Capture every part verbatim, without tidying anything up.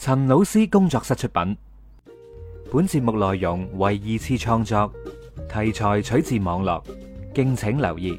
陳老師工作室出品，本節目內容為二次創作，題材取自網絡，敬請留意。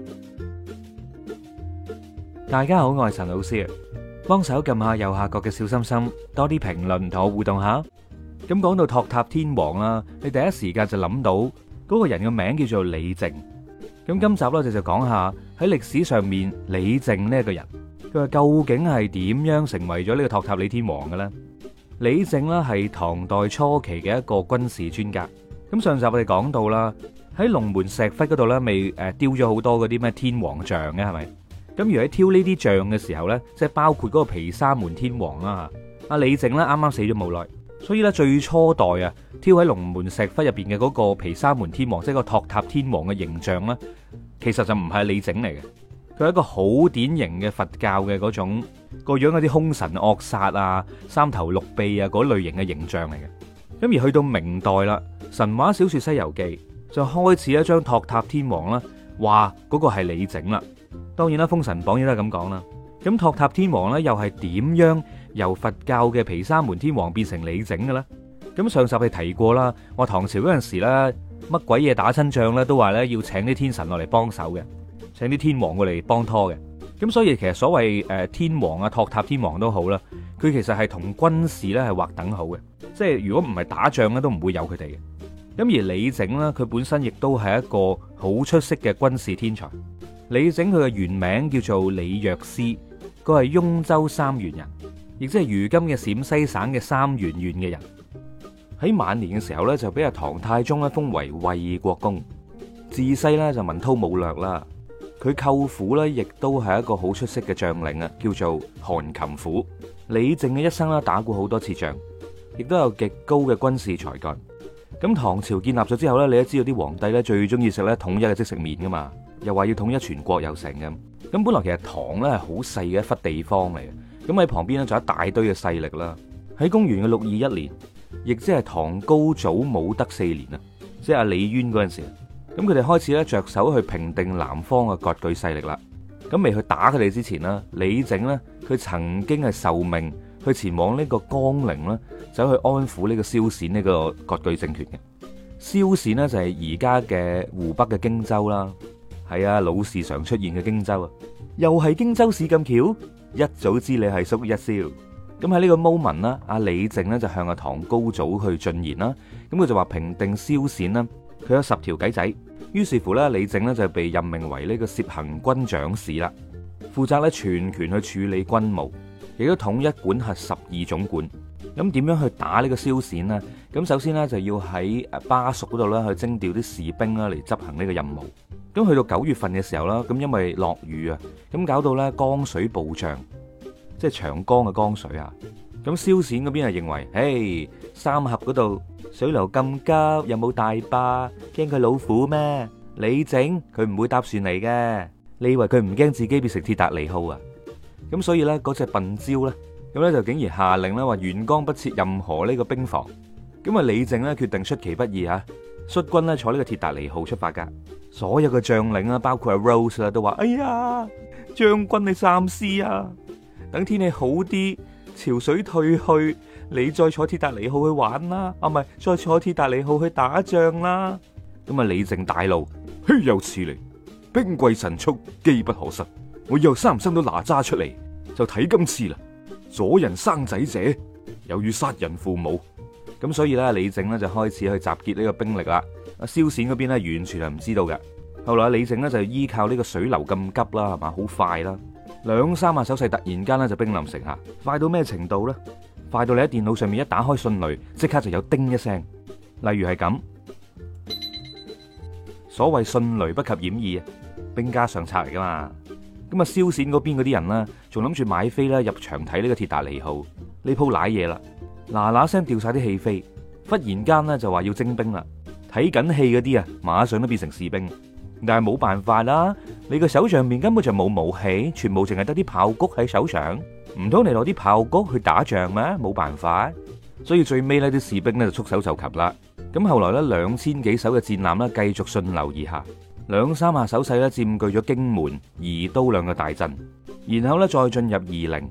大家好，我係陳老師，幫手撳下右下角嘅小心心，多啲評論同我互動下。咁講到托塔天王啦，你第一時間就諗到嗰個人嘅名叫做李靖。咁今集咧就就講下喺歷史上面李靖呢一個人。佢話究竟係點樣成為咗呢個托塔李天王嘅咧？李靖呢係唐代初期嘅一個軍事專家。咁上集我哋講到啦，喺龍門石窟嗰度咧，未誒雕咗好多嗰啲咩天王像嘅係咪？咁如果喺挑呢啲像嘅時候咧，即係包括嗰個毗沙門天王啦，阿李靖咧啱啱死咗冇耐，所以咧最初代啊挑喺龍門石窟入邊嘅嗰個毗沙門天王，即係個托塔天王嘅形象咧，其實就唔係李靖嚟嘅。佢係一個好典型嘅佛教嘅嗰種個樣，嗰啲凶神惡煞啊、三頭六臂啊嗰類型嘅形象嚟嘅。咁而去到明代啦，神話小說《西遊記》就開始一張托塔天王啦，話嗰個係李靖啦。當然啦，《封神榜》亦都係咁講啦。咁托塔天王咧又係點樣由佛教嘅毗沙門天王變成李靖嘅咧？咁上集你提過啦，話唐朝嗰陣時咧乜鬼嘢打親仗咧都話咧要請啲天神落嚟幫手嘅。請啲天王過嚟幫拖嘅，咁所以其實所謂誒天王啊、托塔天王都好啦，佢其實係同軍事咧係劃等號嘅，即係如果唔係打仗咧都唔會有佢哋嘅。咁而李靖呢，佢本身亦都係一個好出色嘅軍事天才。李靖佢嘅原名叫做李藥師，佢係雍州三原人，亦即係如今嘅陝西省嘅三原縣嘅人。喺晚年嘅時候咧，就俾阿唐太宗咧封為衛國公，自細咧就文韜武略啦。佢舅父咧，亦都係一個好出色嘅將領啊，叫做韓擒虎。李靖嘅一生咧，打過好多次仗，亦都有極高嘅軍事才幹。咁唐朝建立咗之後咧，你都知道啲皇帝咧最中意食咧統一嘅即食麵噶嘛，又話要統一全國又成咁。咁本來其實唐咧係好細嘅一忽地方嚟嘅，咁喺旁邊咧仲有一大堆嘅勢力啦。喺公元嘅六二一年，亦即係唐高祖武德四年啊，即係阿李淵嗰陣時。咁佢哋開始咧着手去平定南方嘅割據勢力啦。咁未去打佢哋之前呢，李靖呢，佢曾經係受命去前往呢個江陵啦，走去安撫呢個蕭銑呢個割據政權嘅。蕭銑呢，就係而家嘅湖北嘅荊州啦，係啊，老是常出現嘅荊州啊，又係荊州市咁巧，一早知你係叔一蕭。咁喺呢個 moment 啦，阿李靖呢，就向阿唐高祖去進言啦。咁佢就話平定蕭銑啦，佢有十條計仔。於是乎咧，李靖咧就被任命為呢個攝行軍長史啦，負責咧全權去處理軍務，亦都統一管轄十二總管。咁點樣去打呢個蕭銑呢？咁首先呢，就要喺巴蜀嗰度咧去徵調啲士兵啦嚟執行呢個任務。咁去到九月份嘅時候啦，咁因為落雨啊，咁搞到咧江水暴漲，即係長江嘅江水啊。咁蕭銑嗰邊係認為，誒，三峽嗰度水流咁急，又冇大壩，驚佢老虎咩？李靖佢唔會搭船嚟嘅，你以為佢唔驚自己變成鐵達尼號啊？咁所以咧，嗰隻笨蕉咧，咁咧就竟然下令咧話沿江不設任何呢個兵防。咁啊，李靖咧決定出其不意吓，率軍咧坐呢個鐵達尼號出發噶。所有嘅將領啦，包括阿 Rose 啦，都話：哎呀，將軍你三思啊！等天氣好啲，潮水退去，你再坐鐵達尼號去玩啦，啊唔係，再坐鐵達尼號去打仗啦。咁啊，李靖大怒，豈有此理！兵貴神速，機不可失。我以後生唔生到哪吒出嚟，就睇今次啦。阻人生仔者，猶如殺人父母。咁所以咧，李靖咧就開始去集結呢個兵力啦。阿蕭銑嗰邊咧完全係唔知道嘅。後來李靖咧就依靠呢個水流咁急啦，係嘛，好快啦。兩三下手勢突然間咧就兵臨城下，快到咩程度咧？快到你喺電腦上面一打開迅雷，即刻就有叮一聲。例如係咁，所謂迅雷不及掩耳，兵家上策嚟噶嘛。咁啊，蕭銑嗰邊嗰啲人呢，仲諗住買飛咧入場睇呢個鐵達尼號，呢鋪瀨嘢啦，嗱嗱聲掉晒啲戲飛，忽然間呢，就話要徵兵啦。睇緊戲嗰啲啊，馬上都變成士兵。但係冇辦法啦，你個手上面根本就冇武器，全部淨係得啲炮谷喺手上，唔通你攞啲炮谷去打仗咩？冇辦法，所以最尾呢啲士兵呢就束手就擒啦。咁後來呢，兩千幾艘嘅戰艦呢繼續順流而下，兩三下手勢呢佔據咗荊門、宜都兩個大鎮，然後呢再進入夷陵。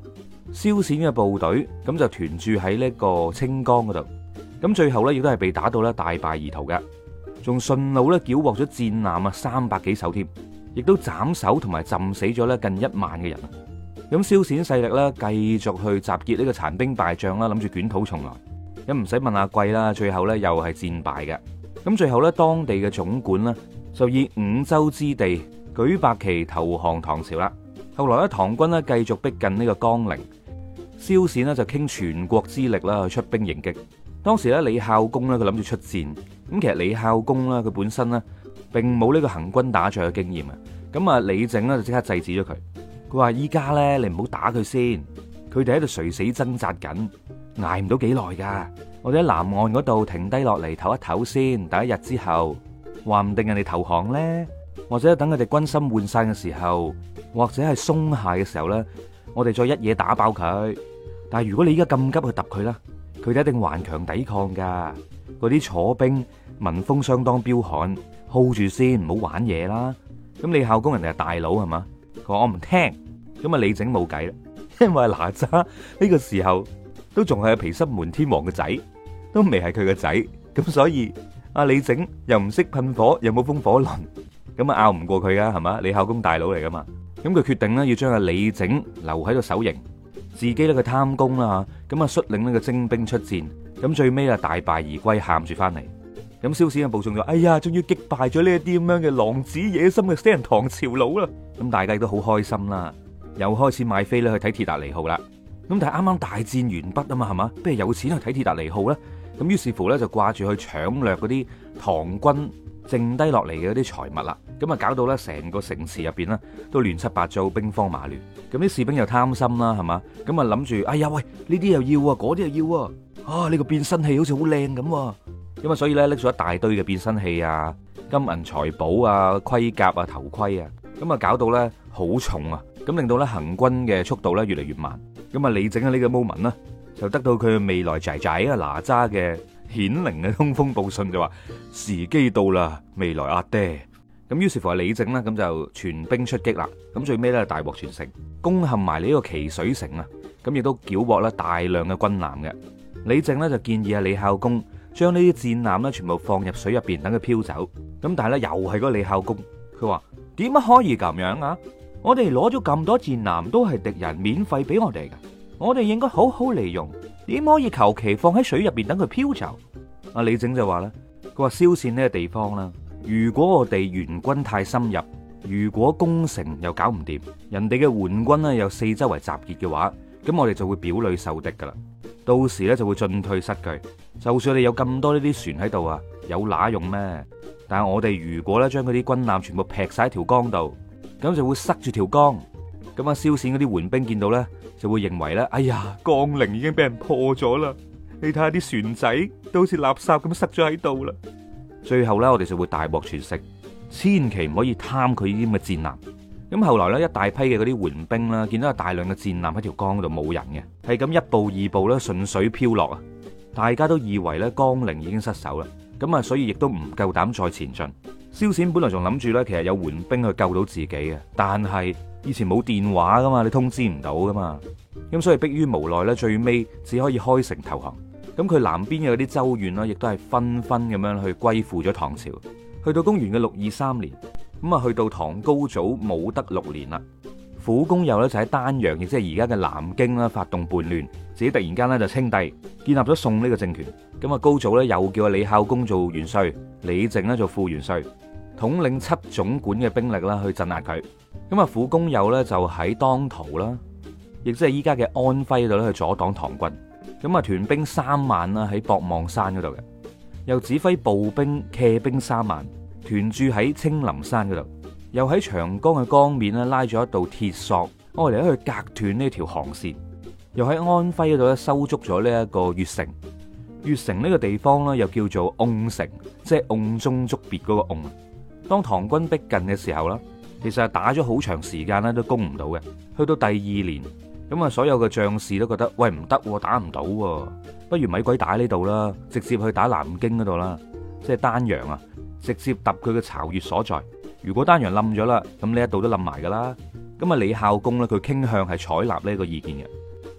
蕭銑嘅部隊咁就屯駐喺呢個清江嗰度，咁最後咧亦都係被打到咧大敗而逃嘅，仲順路咧繳獲咗戰艦啊三百幾艘添，亦都斬首同埋浸死咗咧近一萬嘅人。咁蕭銑勢力咧繼續去集結呢個殘兵敗將啦，諗住捲土重來。咁唔使問阿貴啦，最後咧又係戰敗嘅。咁最後咧當地嘅總管呢，就以五州之地舉白旗投降唐朝啦。後來咧唐軍咧繼續逼近呢個江陵，蕭銑呢就傾全國之力啦去出兵迎擊。當時咧李孝公咧佢諗住出戰，咁其實李孝公咧佢本身呢並冇呢個行軍打仗嘅經驗啊。咁啊李靖咧就即刻制止咗佢。佢話依家咧，你唔好打佢先，佢哋喺度垂死掙扎緊，挨唔到幾耐噶。我哋喺南岸嗰度停低落嚟唞一唞先，等一日之後，話唔定人哋投降咧，或者等佢哋軍心渙散嘅時候，或者係鬆懈嘅時候咧，我哋再一嘢打爆佢。但係如果你依家咁急去揼佢啦，佢哋一定頑強抵抗噶。嗰啲楚兵民風相當彪悍 ，hold 住先，唔好玩嘢啦。咁李孝公人哋係大佬係嘛？佢話我唔聽，咁啊李靖冇計啦，因為哪吒呢個時候都仲係毗濕門天王嘅仔，都未係佢嘅仔，咁所以阿李靖又唔識噴火，又冇風火輪，咁啊拗唔過佢噶係嘛？李孝公大佬嚟噶嘛，咁佢決定咧要將阿李靖留喺度守營，自己咧佢貪功啦吓，咁啊率領呢個精兵出戰，咁最尾啊大敗而歸，喊住翻嚟。咁蕭銑嘅部眾就哎呀，終於擊敗咗呢一啲咁樣嘅狼子野心嘅死人唐朝佬啦！咁大家都好開心啦，又開始買飛咧去睇鐵達尼號啦。咁但係啱啱大戰完畢啊嘛，係嘛？不如有錢去睇鐵達尼號咧？咁於是乎咧就掛住去搶掠嗰啲唐軍剩低落嚟嘅嗰啲財物啦。咁啊搞到咧成個城池入邊咧都亂七八糟，兵荒馬亂。咁啲士兵又貪心啦，係嘛？咁啊諗住，哎呀喂，呢啲又要啊，嗰啲又要啊，啊呢個變身器好似好靚咁。咁啊，所以咧拎咗一大堆嘅變身器啊、金銀財寶啊、盔甲啊、頭盔啊，咁啊搞到咧好重啊，咁令到咧行軍嘅速度咧越嚟越慢。咁啊，李靖喺呢個 moment 呢，就得到佢未來仔仔啊哪吒嘅顯靈嘅通風報信，就話時機到啦，未來阿爹。咁於是乎係李靖呢，咁就全兵出擊啦。咁最尾咧大獲全勝，攻陷埋呢個奇水城啊。咁亦都繳獲咧大量嘅軍艦嘅。李靖呢，就建議啊李孝公，將呢啲戰艦咧全部放入水入邊，等佢飄走。咁但係咧又係嗰個李孝公，佢話點解可以咁樣啊？我哋攞咗咁多戰艦都係敵人免費俾我哋嘅，我哋應該好好利用，點可以求其放喺水入邊等佢飄走？阿李靖就話咧，佢話蕭銑呢個地方啦，如果我哋援軍太深入，如果攻城又搞唔掂，人哋嘅援軍咧又四周圍集結嘅話，咁我哋就會表裏受敵噶啦，到時咧就會進退失據。就算你有咁多呢啲船喺度啊，有乸用咩？但係我哋如果咧將嗰啲軍艦全部劈晒喺條江度，咁就會塞住條江。咁啊，蕭銑嗰啲援兵見到咧，就會認為咧，哎呀，江陵已經俾人破咗啦！你睇下啲船仔都好似垃圾咁塞咗喺度啦。最後咧，我哋就會大獲全勝，千祈唔可以貪佢呢啲咁嘅戰艦。咁後來咧，一大批嘅嗰啲援兵啦，見到有大量嘅戰艦喺條江度冇人嘅，係咁一步二步咧順水飄落啊！大家都以為咧江陵已經失守啦，咁啊，所以亦都唔夠膽再前進。蕭銑本來仲諗住咧，其實有援兵去救到自己嘅，但係以前冇電話噶嘛，你通知唔到噶嘛，咁所以迫於無奈咧，最尾只可以開城投降。咁佢南邊嘅嗰啲州縣啦，亦都係紛紛咁樣去歸附咗唐朝。去到公元嘅六二三年，咁啊去到唐高祖武德六年啦，苦公右咧就喺丹陽，亦即係而家嘅南京啦，發動叛亂，自己突然間咧就稱帝，建立咗宋呢個政權。咁啊，高祖咧又叫阿李孝公做元帥，李靖咧做副元帥，統領七總管嘅兵力啦去鎮壓佢。咁啊，苦公右咧就喺當塗啦，亦即係依家嘅安徽度咧去阻擋唐軍。咁啊，屯兵三萬啦喺博望山嗰度嘅，又指揮步兵騎兵三萬屯駐喺青林山嗰度，又喺長江嘅江面咧拉咗一道鐵索，愛嚟去隔斷呢條航線，又喺安徽嗰度咧收足咗呢一個越城。越城呢個地方咧又叫做瓮城，即係瓮中捉鱉嗰個瓮。當唐軍逼近嘅時候啦，其實係打咗好長時間咧都攻唔到嘅。去到第二年，咁啊所有嘅將士都覺得喂唔得，打唔到，不如咪鬼打呢度啦，直接去打南京嗰度啦，即係丹陽啊，直接揼佢嘅巢穴所在。如果丹陽冧咗啦，咁呢一度都冧埋噶啦。咁啊李孝公咧佢傾向係採納呢個意見嘅。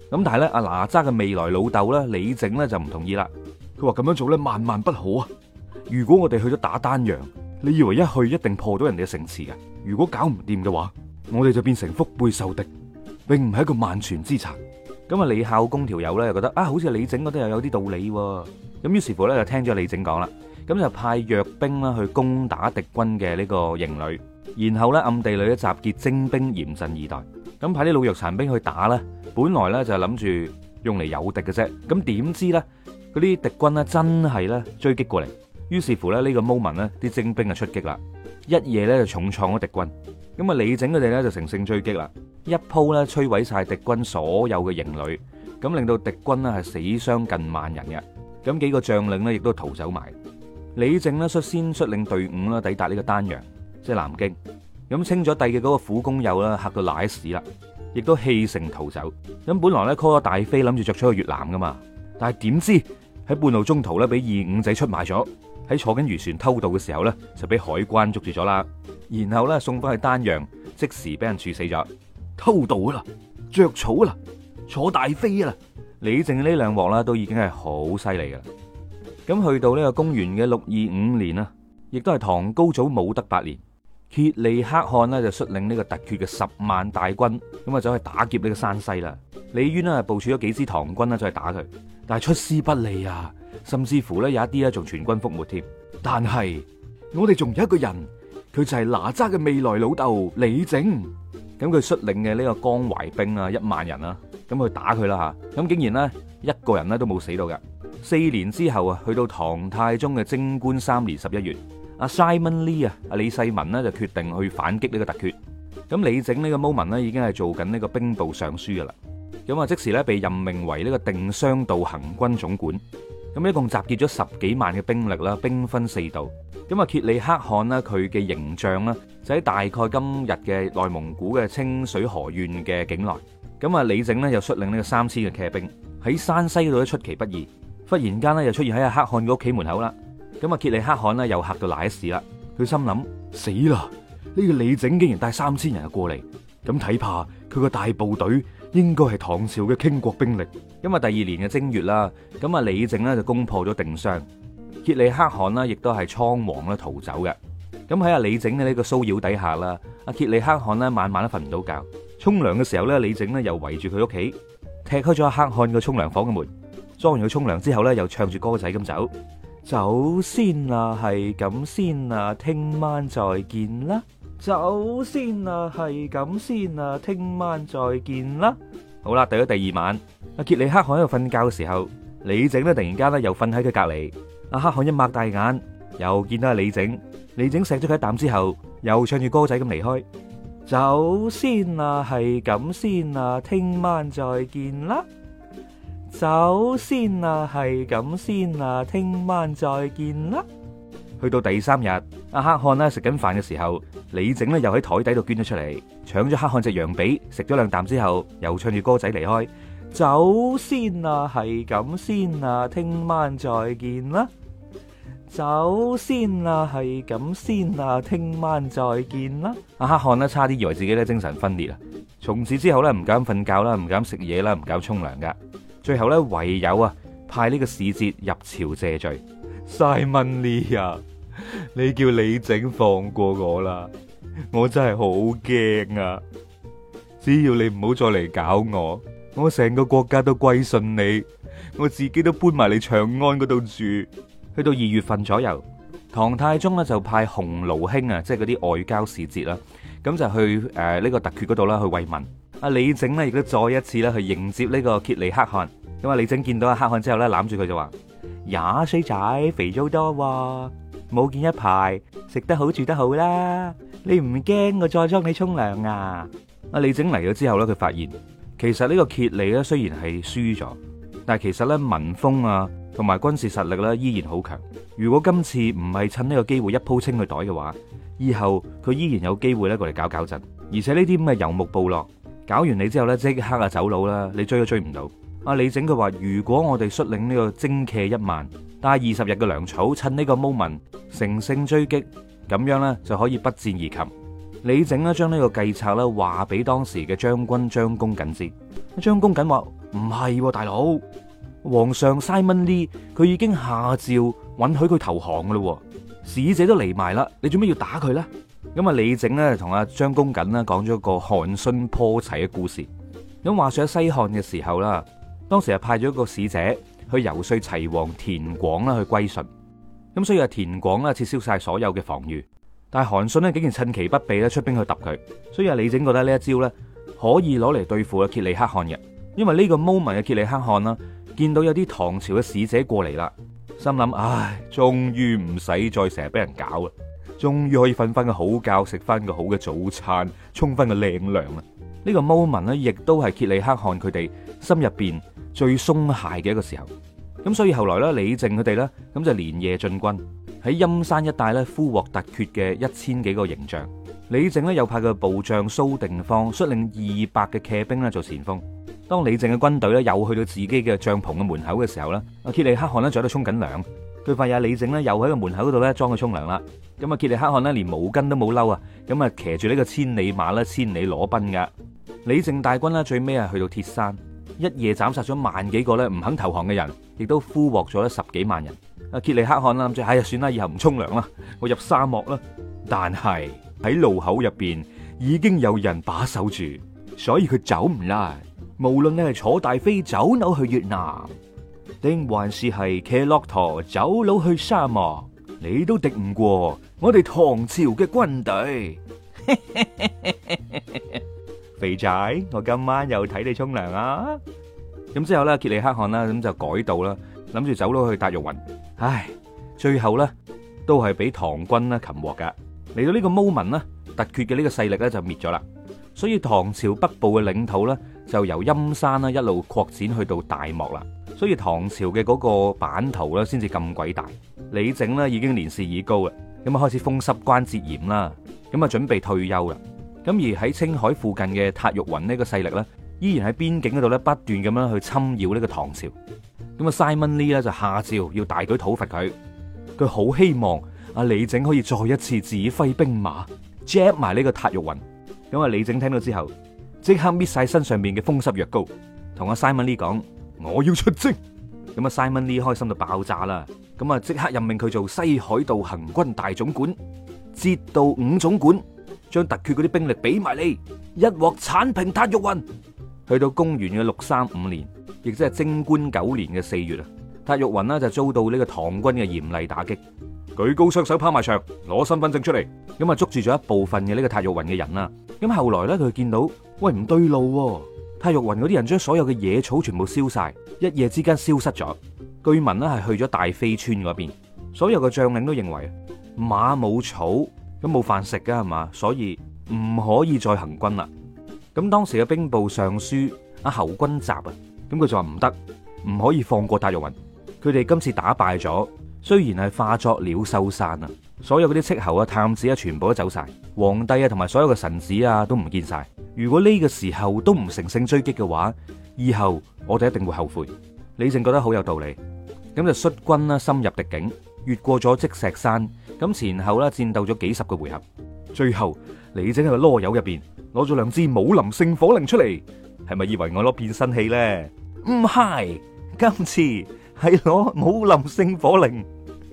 咁但係咧，阿哪吒嘅未來老豆咧李靖咧就唔同意啦。佢話咁樣做咧萬萬不可啊！如果我哋去咗打丹陽，你以為一去一定破到人哋嘅城池嘅？如果搞唔掂嘅話，我哋就變成腹背受敵，並唔係一個萬全之策。咁啊，李孝公條友咧又覺得啊，好似李靖嗰啲又有啲道理喎。咁於是乎咧就聽咗李靖講啦，咁就派弱兵啦去攻打敵軍嘅呢個營壘，然後咧暗地裏咧集結精兵嚴陣以待。咁派啲老弱殘兵去打咧，本來咧就係諗住用嚟誘敵嘅啫。咁點知咧嗰啲敵軍咧真係咧追擊過嚟，於是乎咧呢個 moment 咧啲精兵就出擊啦，一夜咧就重創咗敵軍。咁啊李靖佢哋咧就乘勝追擊啦，一鋪咧摧毀晒敵軍所有嘅營壘，咁令到敵軍咧係死傷近萬人嘅。咁幾個將領咧亦都逃走埋。李靖咧率先率領隊伍啦抵達呢個丹陽，即係南京。咁清咗帝嘅嗰個苦工友啦，嚇到瀨屎啦，亦都棄城逃走。咁本來咧 call 咗大飛諗住着出去越南噶嘛，但係點知喺半路中途咧俾二五仔出賣咗，喺坐緊漁船偷渡嘅時候咧就俾海關捉住咗啦，然後咧送翻去丹陽，即時俾人處死咗。偷渡啦，着草啦，坐大飛啦，李靖呢兩鑊啦都已經係好犀利噶啦。咁去到呢個公元嘅六二五年啊，亦都係唐高祖武德八年。羯利可汗呢就率領呢個突厥嘅十萬大軍，咁啊走去打劫呢個山西啦。李淵呢部署咗幾支唐軍呢走去打佢，但係出師不利啊，甚至乎呢有一啲呢仲全軍覆沒添。但係我哋仲有一個人，佢就係哪吒嘅未來老豆李靖。咁佢率領嘅呢個江淮兵啊一萬人啊，咁去打佢啦吓。咁竟然呢一個人呢都冇死到㗎。四年之後啊，去到唐太宗嘅貞觀三年十一月。阿 Simon Lee 啊，阿李世民呢就決定去反擊呢個突厥。咁李靖呢個 moment 呢已經係做緊呢個兵部尚書噶啦。咁啊即時咧被任命為呢個定襄道行軍總管。咁一共集結咗十幾萬嘅兵力啦，兵分四道。咁啊羯利可汗呢，佢嘅營帳呢就喺大概今日嘅內蒙古嘅清水河縣嘅境內。咁啊李靖呢又率領呢個三千嘅騎兵喺山西嗰度出其不意，忽然間呢又出現喺阿可汗嘅屋企門口啦。咁啊羯利可汗呢又嚇到瀨屎啦，佢心諗死啦！呢個李靖竟然帶三千人過嚟，咁睇怕佢個大部隊應該係唐朝嘅傾國兵力。咁啊第二年嘅正月啦，咁啊李靖呢就攻破咗定襄，羯利可汗呢亦都係倉皇咧逃走嘅。咁喺阿李靖嘅呢個騷擾底下啦，阿羯利可汗呢晚晚都瞓唔到覺，沖涼嘅時候咧，李靖呢又圍住佢屋企，踢開咗阿可汗個沖涼房嘅門，裝完佢沖涼之後咧，又唱住歌仔咁走。走先啦，係咁先啦，聽晚再見啦。走先啦，係咁先啦，聽晚再見啦。好啦，到咗第二晚，阿羯利可汗喺度瞓覺嘅時候，李靖咧突然間咧又瞓喺佢隔籬。阿可汗一擘大眼，又見到阿李靖。李靖錫咗佢一啖之後，又唱住歌仔咁離開。走先啦，係咁先啦，聽晚再見啦。走先啦，係咁先啦，聽晚再見啦。去到第三日，阿可汗咧食緊飯嘅時候，李靖咧又喺台底度捐咗出嚟，搶咗可汗隻羊髀，食咗兩啖之後，又唱住歌仔離開。走先啦，係咁先啦，聽晚再見啦。走先啦，係咁先啦，聽晚再見啦。阿可汗咧差啲以為自己咧精神分裂啊！從此之後咧唔敢瞓覺啦，唔敢食嘢啦，唔敢沖涼噶。最後咧唯有啊派呢個使節入朝謝罪。Simon Lee 啊，你叫李靖放過我啦，我真係好驚啊！只要你唔好再嚟搞我，我成個國家都歸順你，我自己都搬埋嚟長安嗰度住。去到二月份左右，唐太宗咧就派鴻臚卿啊，即係嗰啲外交使節啦，咁就去誒呢個突厥嗰度啦去慰問。阿李靖呢亦都再一次咧去迎接呢個羯利可汗。咁啊李靖見到阿可汗之後咧攬住佢就話：呀衰仔，肥咗好多，冇見一排，食得好住得好啦。你唔驚我再幫你沖涼啊？阿李靖嚟咗之後咧，佢發現其實呢個羯利咧雖然係輸咗，但係其實咧民風啊同埋軍事實力咧依然好強。如果今次唔係趁呢個機會一鋪清佢袋嘅話，以後佢依然有機會咧過嚟搞搞震。而且呢啲咁嘅游牧部落搞完你之後咧，即刻啊走佬啦，你追都追唔到。阿李靖佢話：如果我哋率領呢個精騎一萬，帶二十日嘅糧草，趁呢個 moment 乘勝追擊，咁樣咧就可以不戰而擒。 李靖呢將呢個計策咧話俾當時嘅將軍張公瑾知。張公瑾話唔係，大佬，皇上 Simon Lee 佢已經下詔允許佢投降噶啦，使者都嚟埋啦，你做咩要打佢咧？咁啊，李靖呢同阿張公瑾呢講咗個韓信破齊嘅故事。咁話說喺西漢嘅時候啦，當時係派咗一個使者去游說齊王田廣啦去歸順。咁所以阿田廣啦撤銷晒所有嘅防禦，但係韓信呢竟然趁其不備咧出兵去揼佢。所以阿李靖覺得呢一招咧可以攞嚟對付阿羯利可汗嘅，因為呢個 moment 嘅羯利可汗啦，見到有啲唐朝嘅使者過嚟啦，心諗唉，終於唔使再成日俾人搞啦，終於可以瞓翻個好覺，食翻個好嘅早餐，沖翻個靚涼啦。呢個 moment 咧，亦都係羯利可汗佢哋心入邊最鬆懈嘅一個時候。咁所以後來咧，李靖佢哋咧，咁就連夜進軍喺陰山一帶咧，俘獲突厥嘅一千幾個營帳。李靖咧又派個部將蘇定方率領二百嘅騎兵咧做前鋒。當李靖嘅軍隊咧又去到自己嘅帳篷嘅門口嘅時候咧，阿羯利可汗咧就喺度沖緊涼。佢發現阿李靖咧又喺個門口嗰度咧裝佢沖涼啦。咁啊，羯利可汗咧連毛巾都冇褸啊，咁啊騎住呢個千里馬咧，千里裸奔噶。李靖大軍咧最尾啊去到鐵山，一夜斬殺咗萬幾個咧唔肯投降嘅人，亦都俘獲咗十幾萬人。阿羯利可汗啦諗住，哎呀算啦，以後唔沖涼啦，我入沙漠啦。但係喺路口入邊已經有人把守住，所以佢走唔甩。無論你係坐大飛走佬去越南，定還是係騎駱駝走佬去沙漠，你都敵唔過我哋唐朝嘅軍隊。肥仔，我今晚又睇你沖涼啊！咁之後咧，羯利可汗啦，咁就改道啦，諗住走佬去達玉雲。唉，最後咧都係俾唐軍咧擒獲噶。嚟到呢個 moment 咧，突厥嘅呢個勢力咧就滅咗啦。所以唐朝北部嘅領土咧就由陰山啦一路擴展去到大漠啦。所以唐朝嘅嗰個版圖咧先至咁鬼大。李靖咧已經年事已高啦，咁啊開始風濕關節炎啦，咁啊準備退休啦。咁而喺青海附近嘅塔玉雲呢個勢力咧，依然喺邊境嗰度咧不斷咁樣去侵擾呢個唐朝。咁啊，Simon Lee 咧就下詔要大舉討伐佢。佢好希望阿李靖可以再一次指揮兵馬 jab 埋呢個塔玉雲。咁啊，李靖聽到之後，即刻搣晒身上面嘅風濕藥膏，同阿 Simon Lee 講：我要出征。咁啊，Simon Lee 開心到爆炸啦。咁啊，即刻任命佢做西海道行軍大總管、節道五總管。將突厥嗰啲兵力俾埋你，一鑊鏟平塔玉雲。去到公元嘅六三五年，亦即係貞觀九年嘅四月啊，塔玉雲呢就遭到呢個唐軍嘅嚴厲打擊。舉高雙手拋埋牆，攞身份證出嚟，咁啊捉住咗一部分嘅呢個塔玉雲嘅人啦。咁後來咧佢見到，喂唔對路，塔玉雲嗰啲人將所有嘅野草全部燒晒，一夜之間消失咗。據聞呢係去咗大非川嗰邊，所有嘅將領都認為馬冇草。咁冇飯食噶係嘛，所以唔可以再行軍啦。咁當時嘅兵部尚書阿侯君集啊，咁佢就話唔得，唔可以放過塔玉雲。佢哋今次打敗咗，雖然係化作鳥獸散啊，所有嗰啲斥候啊、探子啊，全部都走晒，皇帝啊同埋所有嘅臣子啊都唔見晒。如果呢個時候都唔乘勝追擊嘅話，以後我哋一定會後悔。李靖覺得好有道理，咁就率軍啦深入敵境，越過咗積石山。咁前後咧戰鬥咗幾十個回合，最後李靖喺個囉柚入邊攞咗兩支武林聖火令出嚟，係咪以為我攞變身器咧？唔係，今次係攞武林聖火令。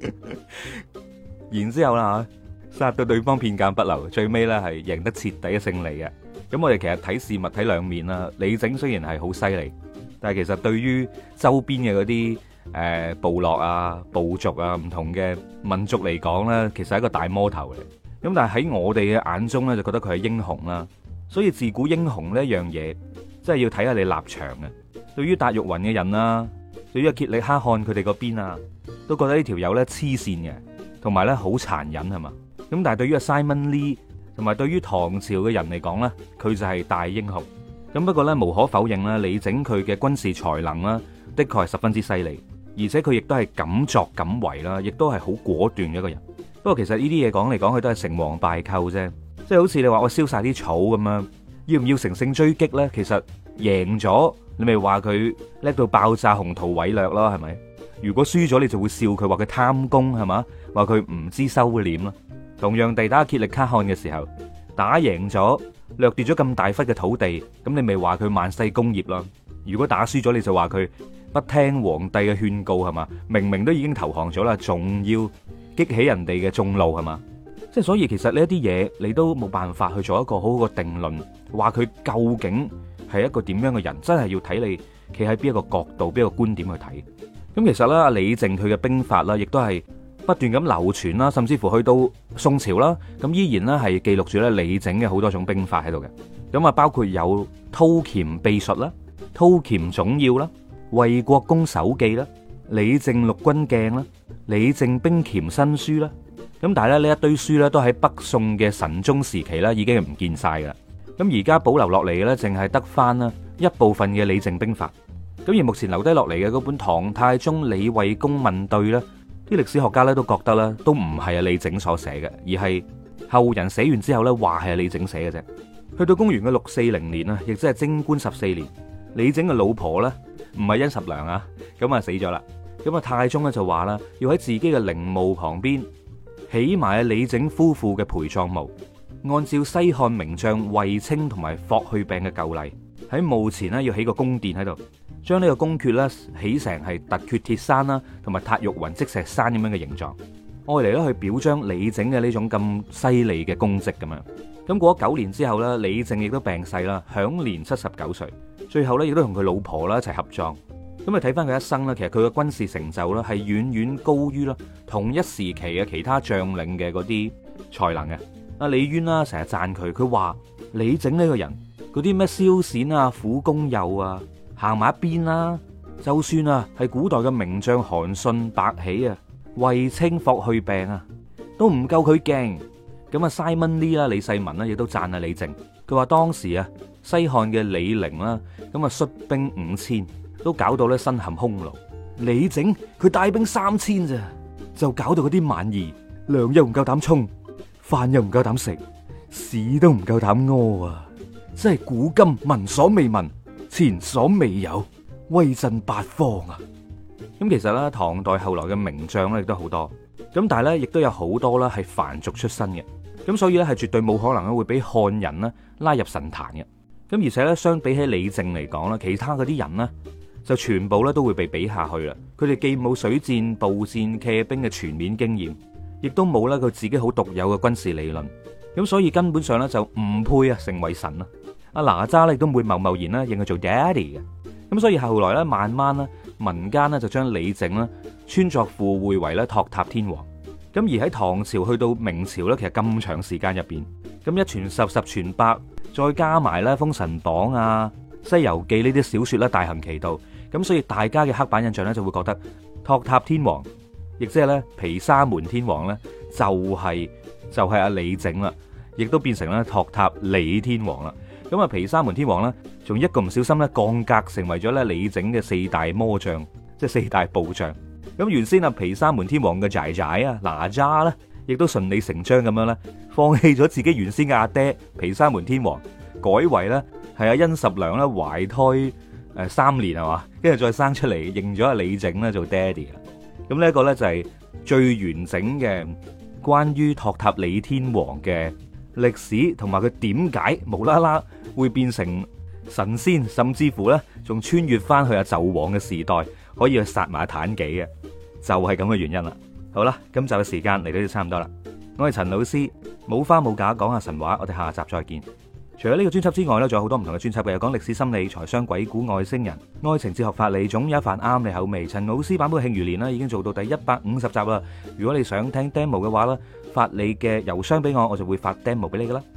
然之後啦，殺到對方片甲不留，最尾咧係贏得徹底嘅勝利嘅。咁我哋其實睇事物睇兩面啦。李靖雖然係好犀利，但係其實對於周邊嘅嗰啲。誒，部落啊、部族啊、唔同嘅民族嚟講咧，其實係一個大魔頭嚟。咁但係喺我哋嘅眼中咧，就覺得佢係英雄啦。所以自古英雄呢一樣嘢，真係要睇下你立場嘅。對於達玉雲嘅人啦，對於阿羯利可汗佢哋嗰邊啊，都覺得呢條友咧黐線嘅，同埋咧好殘忍係嘛。咁但係對於阿 Simon Lee 同埋對於唐朝嘅人嚟講咧，佢就係大英雄。咁不過咧，無可否認啦，李靖佢嘅軍事才能啦，的確係十分之犀利。而且佢亦都係敢作敢為啦，亦都係好果斷嘅一個人。不過其實呢啲嘢講嚟講去都係成王敗寇啫，即係好似你話我燒晒啲草咁樣，要唔要乘勝追擊呢？其實贏咗你咪話佢叻到爆炸、宏圖偉略咯，係咪？如果輸咗你就會笑佢，話佢貪功係嘛，話佢唔知收斂啦。同樣地打羯力可汗嘅時候， 打贏咗，掠奪咗咁大忽嘅土地，咁你咪話佢萬世功業咯。如果打輸咗，你就話佢不聽皇帝嘅勸告係嘛？明明都已經投降咗啦，仲要激起人哋嘅眾怒係嘛？即係所以其實呢一啲嘢你都冇辦法去做一個好好嘅定論，話佢究竟係一個點樣嘅人，真係要睇你企喺邊一個角度、邊一個觀點去睇。咁其實咧，阿李靖佢嘅兵法啦，亦都係不斷咁流傳啦，甚至乎去到宋朝啦，咁依然咧係記錄住咧李靖嘅好多種兵法喺度嘅。咁啊，包括有韜鈐秘術啦、韜鈐總要啦、衛國公手記啦、李靖六軍鏡啦、李靖兵鈐新書啦。咁但係咧呢一堆書咧都喺北宋嘅神宗時期咧已經係唔見晒噶啦。咁而家保留落嚟嘅咧，淨係得翻啦一部分嘅李靖兵法。咁而目前留低落嚟嘅嗰本《唐太宗李衛公問對》咧，啲歷史學家咧都覺得咧都唔係阿李靖所寫嘅，而係後人寫完之後咧話係阿李靖寫嘅啫。去到公元嘅六四零年啊，亦即係貞觀十四年，李靖嘅老婆咧唔係殷十娘啊，咁啊死咗啦。咁啊太宗咧就話啦，要喺自己嘅陵墓旁邊起埋李靖夫婦嘅陪葬墓，按照西漢名將衛青同埋霍去病嘅舊例，喺墓前咧要起個宮殿喺度，將呢個宮闕咧起成係突厥鐵山啦，同埋塔玉雲積石山咁樣嘅形狀，愛嚟咧去表彰李靖嘅呢種咁犀利嘅功績咁樣。咁過咗九年之後咧，李靖亦都病逝啦，享年七十九歲。最後咧亦都同佢老婆啦一齊合葬。咁啊睇翻佢一生咧，其實佢嘅軍事成就咧係遠遠高於啦同一時期嘅其他將領嘅嗰啲才能嘅。阿李淵啦成日讚佢，佢話李靖呢個人嗰啲咩蕭銑啊、苦公右啊，行埋一邊啦。就算啊係古代嘅名將韓信、白起啊、衛青、霍去病啊，都唔夠佢勁。咁啊 Simon Lee 啦、李世民啦，亦都讚啊李靖。佢話當時啊西漢嘅李陵啦，咁啊率兵五千。都搞到咧身陷匈奴，李靖佢帶兵三千咋，就搞到嗰啲蠻夷糧又唔夠膽充，飯又唔夠膽食，屎都唔夠膽屙啊！真係古今聞所未聞，前所未有，威震八方啊！咁其實咧，唐代後來嘅名將咧亦都好多，咁但係咧亦都有好多啦係凡俗出身嘅，咁所以咧係絕對冇可能咧會俾漢人咧拉入神壇嘅。咁而且咧相比起李靖嚟講啦，其他嗰啲人呢，就全部咧都會被比下去啦。佢哋既冇水戰、步戰、騎兵嘅全面經驗，亦都冇咧佢自己好獨有嘅軍事理論。咁所以根本上咧就唔配啊成為神啦。阿哪吒咧亦都唔會貿貿然咧認佢做 daddy 嘅。咁所以後來咧慢慢咧民間咧就將李靖咧穿鑿附會為咧托塔天王。咁而喺唐朝去到明朝咧，其實咁長時間入邊，咁一傳十，十傳百，再加埋咧《封神榜》啊、《西遊記》呢啲小說咧大行其道。咁所以大家嘅刻板印象咧就會覺得托塔天王，亦即係咧毗沙門天王咧就係就係阿李靖啦，亦都變成咧托塔李天王啦。咁啊毗沙門天王咧仲一個唔小心咧降格成為咗咧李靖嘅四大魔將，即係四大部將。咁原先啊毗沙門天王嘅仔仔啊哪吒咧，亦都順理成章咁樣咧放棄咗自己原先嘅阿爹毗沙門天王，改為咧係阿殷十娘咧懷胎。誒，三年係嘛，跟住再生出嚟，認咗阿李靖咧做爹哋啦。咁呢一個咧就係最完整嘅關於托塔李天王嘅歷史，同埋佢點解無啦啦會變成神仙，甚至乎咧仲穿越翻去阿紂王嘅時代，可以去殺埋妲己嘅，就係咁嘅原因啦。好啦，今集嘅時間嚟到就差唔多啦。我係陳老師，冇花冇假講下神話，我哋下集再見。除咗呢個專輯之外呢，仲有好多唔同嘅專輯嘅，有講歷史、心理、財商、鬼故、外星人、愛情、哲學、法理，總有一份啱你口味。陳老師版本嘅慶餘年啦，已經做到第一百五十集啦。如果你想聽 demo 嘅話呢，發你嘅郵箱俾我，我就會發 demo 俾你噶啦。